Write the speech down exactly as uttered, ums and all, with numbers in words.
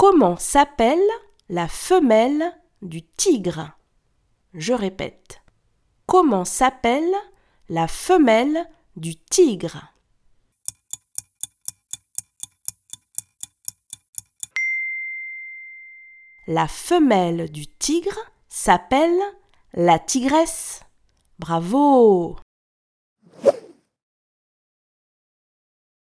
Comment s'appelle la femelle du tigre? Je répète. Comment s'appelle la femelle du tigre? La femelle du tigre s'appelle la tigresse. Bravo!